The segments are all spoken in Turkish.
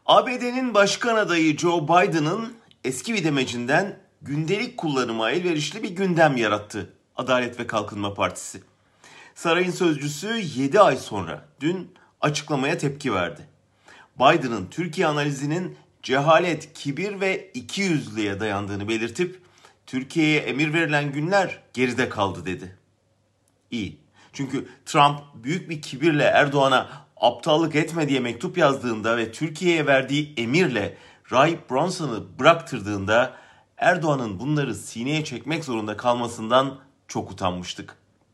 ABD'nin başkan adayı Joe Biden'ın eski bir demecinden gündelik kullanıma elverişli bir gündem yarattı Adalet ve Kalkınma Partisi. Sarayın sözcüsü 7 ay sonra dün açıklamaya tepki verdi. Biden'ın Türkiye analizinin cehalet, kibir ve ikiyüzlülüğe dayandığını belirtip Türkiye'ye emir verilen günler geride kaldı dedi. İyi. Çünkü Trump büyük bir kibirle Erdoğan'a aptallık etme diye mektup yazdığında ve Türkiye'ye verdiği emirle Rahip Bronson'ı bıraktırdığında Erdoğan'ın bunları sineye çekmek zorunda kalmasından çok utanmıştık.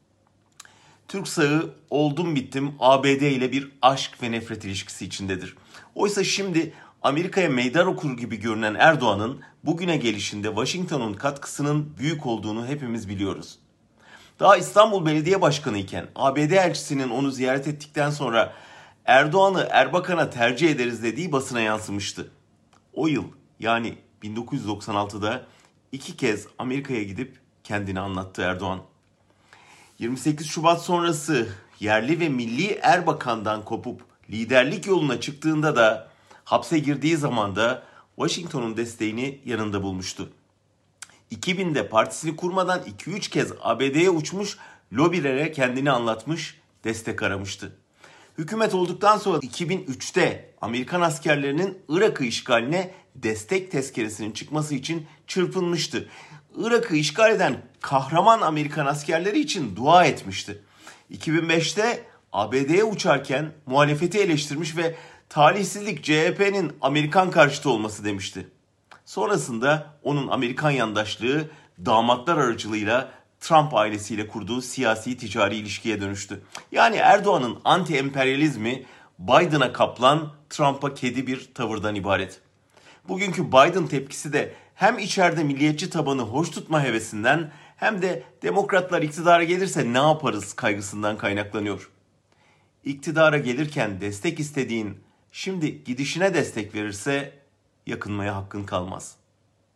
Türk sağı oldum bittim ABD ile bir aşk ve nefret ilişkisi içindedir. Oysa şimdi Amerika'ya meydan okur gibi görünen Erdoğan'ın bugüne gelişinde Washington'un katkısının büyük olduğunu hepimiz biliyoruz. Daha İstanbul Belediye Başkanı iken ABD elçisinin onu ziyaret ettikten sonra Erdoğan'ı Erbakan'a tercih ederiz dediği basına yansımıştı. O yıl yani 1996'da 2 kez Amerika'ya gidip kendini anlattı Erdoğan. 28 Şubat sonrası yerli ve milli Erbakan'dan kopup liderlik yoluna çıktığında da hapse girdiği zaman da Washington'un desteğini yanında bulmuştu. 2000'de partisini kurmadan 2-3 kez ABD'ye uçmuş, lobilere kendini anlatmış, destek aramıştı. Hükümet olduktan sonra 2003'te Amerikan askerlerinin Irak'ı işgaline destek tezkeresinin çıkması için çırpınmıştı. Irak'ı işgal eden kahraman Amerikan askerleri için dua etmişti. 2005'te ABD'ye uçarken muhalefeti eleştirmiş ve talihsizlik CHP'nin Amerikan karşıtı olması demişti. Sonrasında onun Amerikan yandaşlığı damatlar aracılığıyla Trump ailesiyle kurduğu siyasi ticari ilişkiye dönüştü. Yani Erdoğan'ın anti-emperyalizmi Biden'a kaplan, Trump'a kedi bir tavırdan ibaret. Bugünkü Biden tepkisi de hem içeride milliyetçi tabanı hoş tutma hevesinden hem de demokratlar iktidara gelirse ne yaparız kaygısından kaynaklanıyor. İktidara gelirken destek istediğin şimdi gidişine destek verirse yakınmaya hakkın kalmaz.